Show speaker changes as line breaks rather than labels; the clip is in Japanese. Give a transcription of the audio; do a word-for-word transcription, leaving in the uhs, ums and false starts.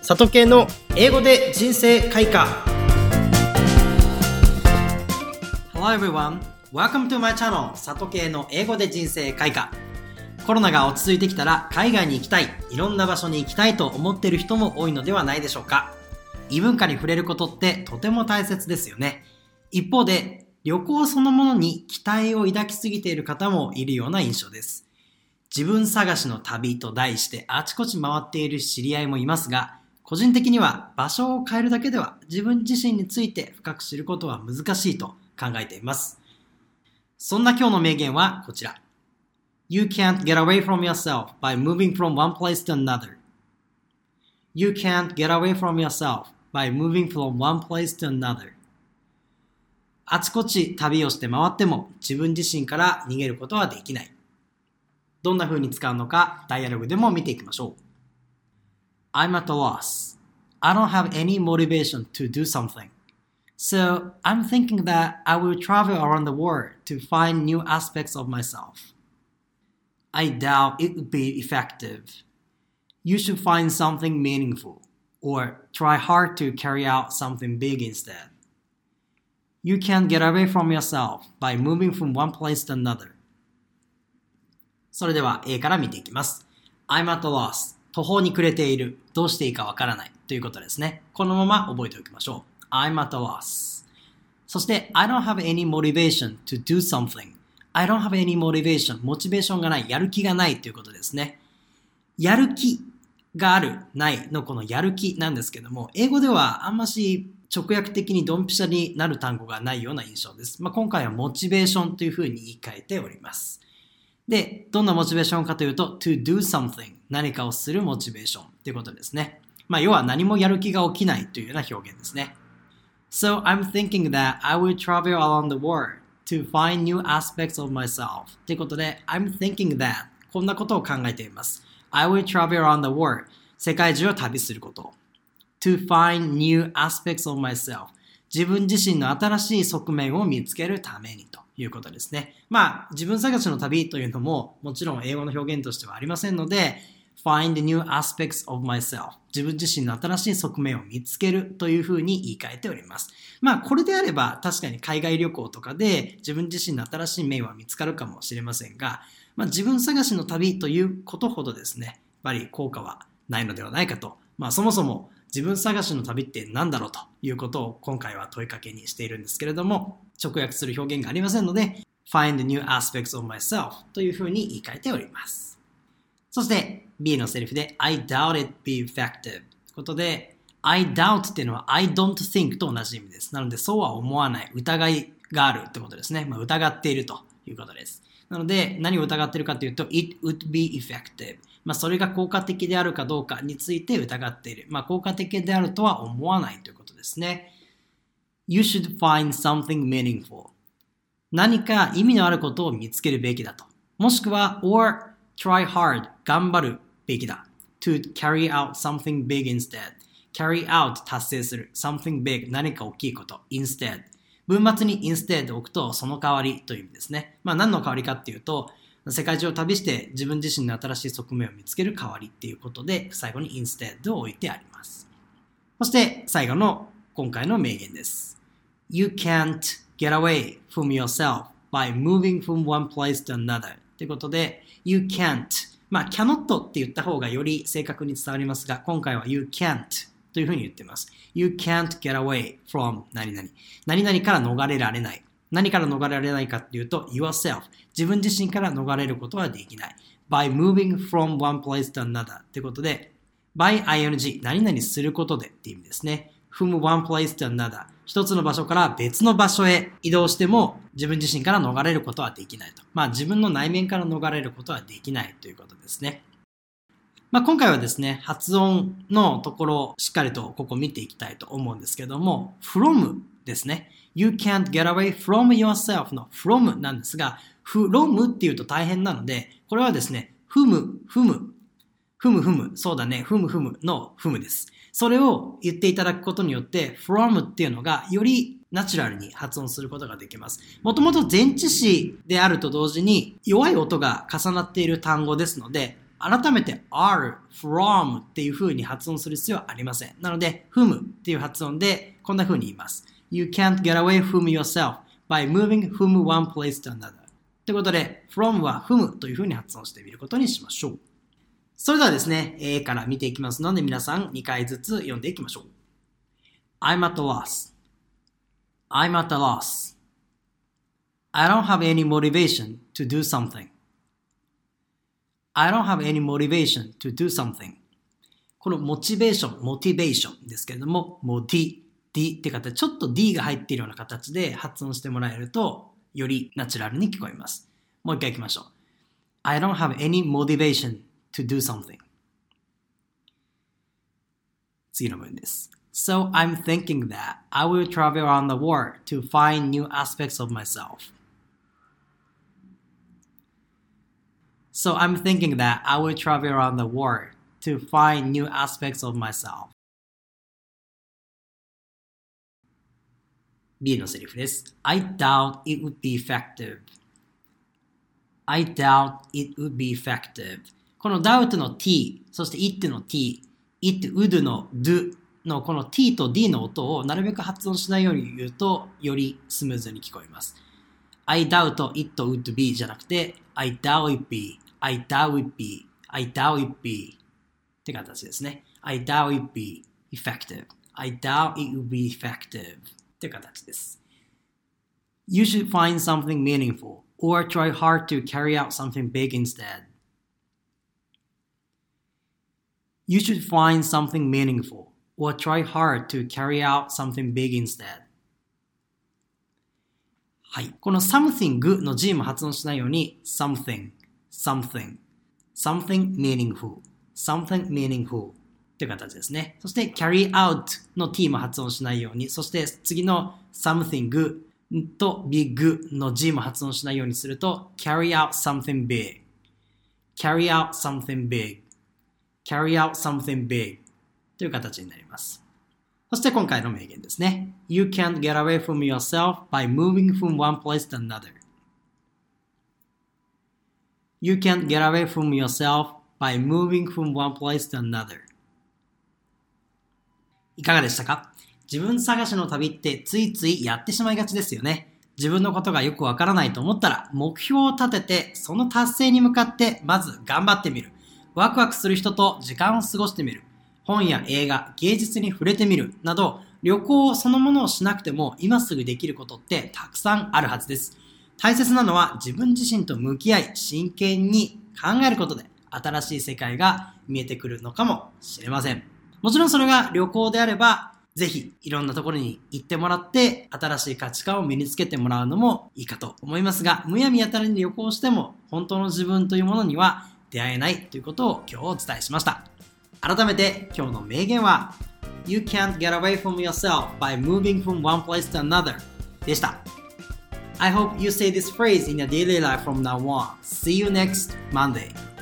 里系の英語で人生開花。 Hello everyone, welcome to my channel 里系の英語で人生開花。コロナが落ち着いてきたら海外に行きたい、いろんな場所に行きたいと思っている人も多いのではないでしょうか。異文化に触れることってとても大切ですよね。一方で旅行そのものに期待を抱きすぎている方もいるような印象です。自分探しの旅と題してあちこち回っている知り合いもいますが、個人的には場所を変えるだけでは自分自身について深く知ることは難しいと考えています。そんな今日の名言はこちら。You can't get away from yourself by moving from one place to another. You can't get away from yourself by moving from one place to another. あちこち旅をして回っても自分自身から逃げることはできない。どんな風に使うのかダイアログでも見ていきましょう。I'm at a loss. I don't have any motivation to do something. So I'm thinking that I will travel around the world to find new aspects of myself. I doubt it would be effective. You should find something meaningful or try hard to carry out something big instead. You can't get away from yourself by moving from one place to another. それでは A から見ていきます。I'm at a loss. 途方に暮れている。どうしていいかわからないということですね。このまま覚えておきましょう。I'm at a loss. そして I don't have any motivation to do something.I don't have any motivation. モチベーションがない。やる気がないということですね。やる気がある、ないのこのやる気なんですけども、英語ではあんまし直訳的にドンピシャになる単語がないような印象です。まあ、今回はモチベーションというふうに言い換えております。で、どんなモチベーションかというと、to do something。何かをするモチベーションということですね。まあ、要は何もやる気が起きないというような表現ですね。So I'm thinking that I will travel around the world.to find new aspects of myself ということで I'm thinking that こんなことを考えています。 I will travel around the world 世界中を旅すること to find new aspects of myself 自分自身の新しい側面を見つけるためにということですね。まあ自分探しの旅というのももちろん英語の表現としてはありませんのでFind new aspects of myself 自分自身の新しい側面を見つけるというふうに言い換えております。まあこれであれば確かに海外旅行とかで自分自身の新しい面は見つかるかもしれませんが、まあ、自分探しの旅ということほどですねやっぱり効果はないのではないかと、まあそもそも自分探しの旅って何だろうということを今回は問いかけにしているんですけれども、直訳する表現がありませんので Find new aspects of myself というふうに言い換えております。そして B のセリフで I doubt it be effective ということで I doubt っていうのは I don't think と同じ意味です。なのでそうは思わない、疑いがあるってことですね。まあ、疑っているということです。なので何を疑っているかというと It would be effective、まあ、それが効果的であるかどうかについて疑っている、まあ、効果的であるとは思わないということですね。You should find something meaningful 何か意味のあることを見つけるべきだと、もしくは or try hard 頑張るべきだ to carry out something big instead carry out 達成する something big 何か大きいこと instead 文末に instead を置くとその代わりという意味ですね。まあ何の代わりかっていうと世界中を旅して自分自身の新しい側面を見つける代わりっていうことで最後に instead を置いてあります。そして最後の今回の名言です。 You can't get away from yourself by moving from one place to another ということでYou can't まあ cannot って言った方がより正確に伝わりますが、今回は You can't というふうに言っています。 You can't get away from 何々何々から逃れられない。何から逃れられないかっていうと yourself 自分自身から逃れることはできない。 by moving from one place to another ということで by ing 何々することでっていう意味ですね。from one place to another 一つの場所から別の場所へ移動しても自分自身から逃れることはできないと。まあ自分の内面から逃れることはできないということですね。まあ今回はですね、発音のところをしっかりとここ見ていきたいと思うんですけども、from ですね。You can't get away from yourself の from なんですが、from っていうと大変なので、これはですね、ふむ、ふむ、ふむふむ、そうだね、ふむふむのふむです。それを言っていただくことによって from っていうのがよりナチュラルに発音することができます。もともと前置詞であると同時に弱い音が重なっている単語ですので改めて are, from っていう風に発音する必要はありません。なので、from っていう発音でこんな風に言います。You can't get away from yourself by moving from one place to another. ということで、from は from という風に発音してみることにしましょう。それではですね、A から見ていきますので、皆さんにかいずつ読んでいきましょう。I'm at a loss. I'm at a loss. I don't have any motivation to do something.I don't have any motivation to do something. このモチベーション、モチベーションですけれども、モティ、D って形、ちょっと D が入っているような形で発音してもらえると、よりナチュラルに聞こえます。もう一回行きましょう。I don't have any motivation to do something. 次の文です。So I'm thinking that I will travel around the world to find new aspects of myself.So I'm thinking that I will travel around the world to find new aspects of myself. B のセリフです。I doubt it would be effective. I doubt it would be effective. この doubt の t、そして it の t、it would の do のこの t と d の音をなるべく発音しないように言うと、よりスムーズに聞こえます。I doubt it would be じゃなくて、I doubt it be.I doubt it be. I doubt it be. って形ですね。I doubt it be effective. I doubt it will be effective. って形です。You should find something meaningful or try hard to carry out something big instead. You should find something meaningful or try hard to carry out something big instead. はい。この something の G も発音しないように something.something, something meaningful, something meaningful という形ですね。そして carry out の t も発音しないように、そして次の something と big の g も発音しないようにすると carry out something big, carry out something big, carry out something big という形になります。そして今回の名言ですね。You can't get away from yourself by moving from one place to another.You can't get away from yourself by moving from one place to another. いかがでしたか？自分探しの旅ってついついやってしまいがちですよね。自分のことがよくわからないと思ったら目標を立ててその達成に向かってまず頑張ってみる。ワクワクする人と時間を過ごしてみる。本や映画、芸術に触れてみるなど旅行そのものをしなくても今すぐできることってたくさんあるはずです。大切なのは自分自身と向き合い真剣に考えることで新しい世界が見えてくるのかもしれません。もちろんそれが旅行であればぜひいろんなところに行ってもらって新しい価値観を身につけてもらうのもいいかと思いますが、むやみやたらに旅行しても本当の自分というものには出会えないということを今日お伝えしました。改めて今日の名言は You can't get away from yourself by moving from one place to another でした。I hope you say this phrase in your daily life from now on. See you next Monday.